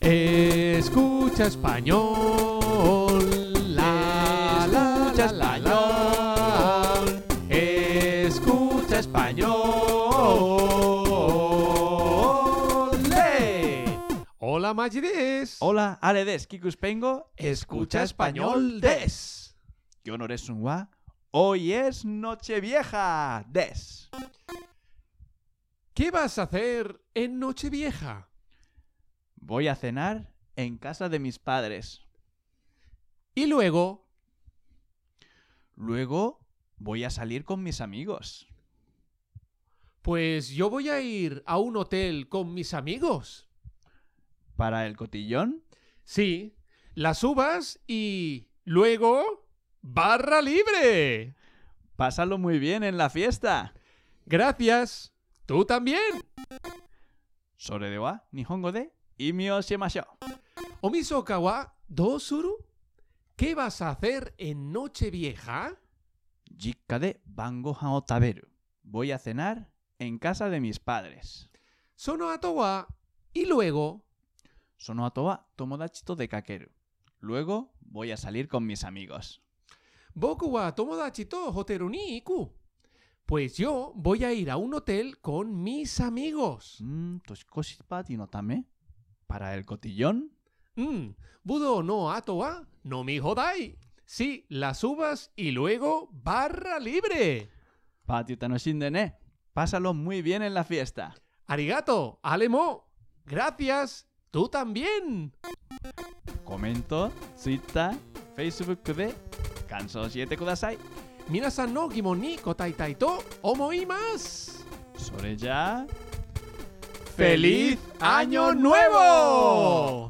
Escucha español. La, la, la, la, la. Escucha español. ¡Le! Hola, Magides. Hola, ale des, kikuspengo. Escucha español des. Yo no eres un wa. Hoy es Nochevieja des. ¿Qué vas a hacer en Nochevieja? Voy a cenar en casa de mis padres. Y luego, Luego voy a salir con mis amigos. pues yo voy a ir a un hotel con mis amigos. Para el cotillón, Sí, las uvas y luego barra libre. pásalo muy bien en la fiesta. Gracias. Tú también. Sore de wa, nihongo de, imi o shimashou. Omisoka wa do suru? ¿Qué vas a hacer en Nochevieja? Jikka de ban gohan o taberu. Voy a cenar en casa de mis padres. Sono ato wa y luego, Sono ato wa tomodachi to dekakeru. Luego voy a salir con mis amigos. boku wa tomodachi to hoteru ni iku. Pues yo voy a ir a un hotel con mis amigos. Toshikoshi party no tame. Para el cotillón, Budo no ato wa no mi hodai. Sí, las uvas y luego barra libre. party tanoshinde ne. Pásalo muy bien en la fiesta. Arigato, alemo. Gracias. Tú también. Comento, Twitter, Facebook de kansou shiete kudasai. Minasan no gimon ni kotaitai to omoimasu. Sore ya. ¡Feliz Año Nuevo!